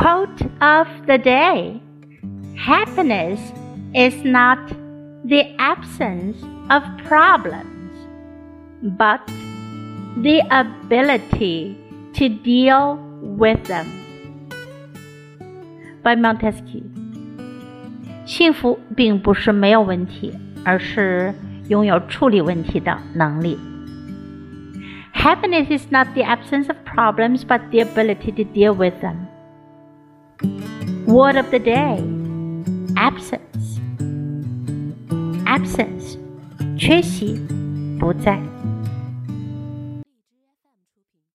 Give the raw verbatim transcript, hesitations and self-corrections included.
Quote of the day: Happiness is not the absence of problems, but the ability to deal with them. By Montesquieu. 幸福并不是没有问题，而是拥有处理问题的能力。Happiness is not the absence of problems, but the ability to deal with them. Word of the day: absence. Absence, 缺席，不在。